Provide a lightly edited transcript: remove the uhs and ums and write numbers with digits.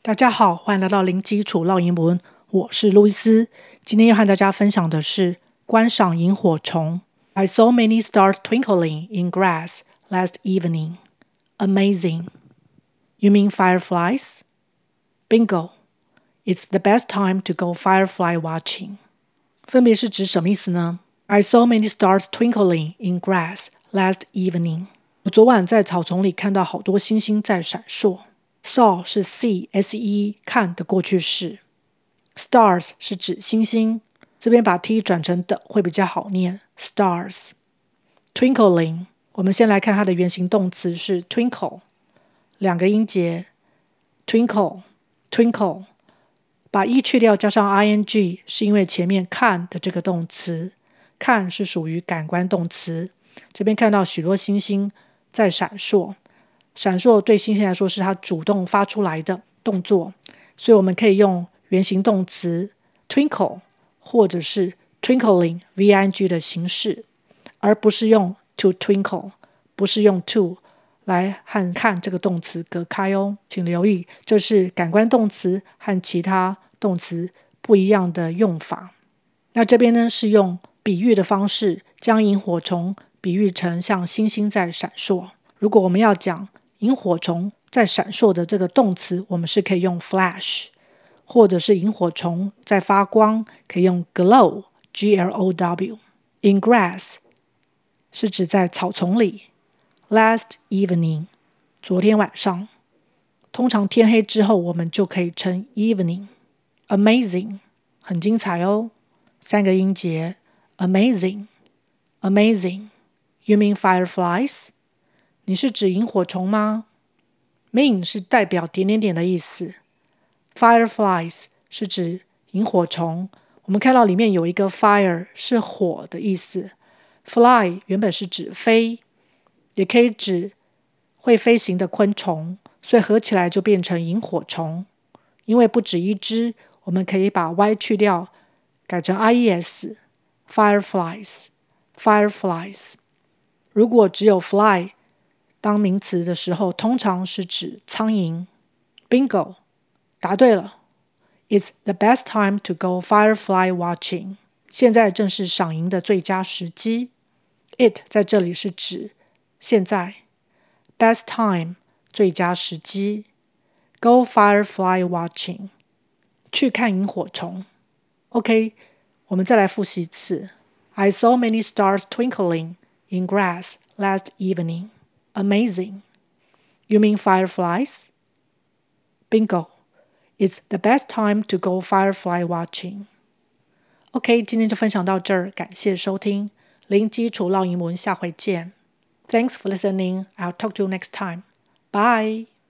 大家好，歡迎來到零基礎繞英文，我是路易斯。今天要和大家分享的是觀賞螢火蟲。I saw many stars twinkling in grass last evening. Amazing. You mean fireflies? Bingo. It's the best time to go firefly watching. 分別是指什麼意思呢？ I saw many stars twinkling in grass last evening. 我昨晚在草叢裡看到好多星星在閃爍。Saw 是 see, S-E, 看的過去式。Stars 是指星星，這邊把 t 轉成的會比較好念。Stars. Twinkling 我們先來看它的原形動詞是 twinkle， 兩個音節 twinkle, twinkle。把 e 去掉加上 ing 是因為前面看的這個動詞，看是屬於感官動詞。這邊看到許多星星在閃爍，閃爍對星星來說是它主動發出來的動作，所以我們可以用原形動詞 twinkle 或者是 twinkling V-I-N-G 的形式，而不是用 to twinkle， 不是用 to 來和看這個動詞隔開哦。請留意，這是感官動詞和其他動詞不一樣的用法。那這邊呢是用比喻的方式將螢火蟲比喻成像星星在閃爍。如果我們要講螢火蟲在閃爍的這個動詞，我們是可以用 flash， 或者是螢火蟲在發光，可以用 glow, G-L-O-W。 In grass 是指在草叢裡。Last evening 昨天晚上，通常天黑之後我們就可以稱 evening。 Amazing 很精彩哦，三個音節 Amazing, amazing. You mean fireflies? 你是指螢火蟲嗎？ Mean 是代表點點點的意思。Fireflies 是指螢火蟲。我們看到裡面有一個 fire 是火的意思。Fly 原本是指飛，也可以指會飛行的昆蟲，所以合起來就變成螢火蟲。因為不止一隻，我們可以把 y 去掉，改成 ies。Fireflies, fireflies。如果只有 fly 當名詞的時候，通常是指蒼蠅。Bingo， 答對了。It's the best time to go firefly watching. 現在正是賞螢的最佳時機。It 在這裡是指現在。Best time 最佳時機。Go firefly watching 去看螢火蟲。OK， 我們再來複習一次。I saw many stars twinkling in grass last evening. Amazing. You mean fireflies? Bingo. It's the best time to go firefly watching. OK， 今天就分享到這兒，感謝收聽。零基礎繞英文，下回見。Thanks for listening. I'll talk to you next time. Bye.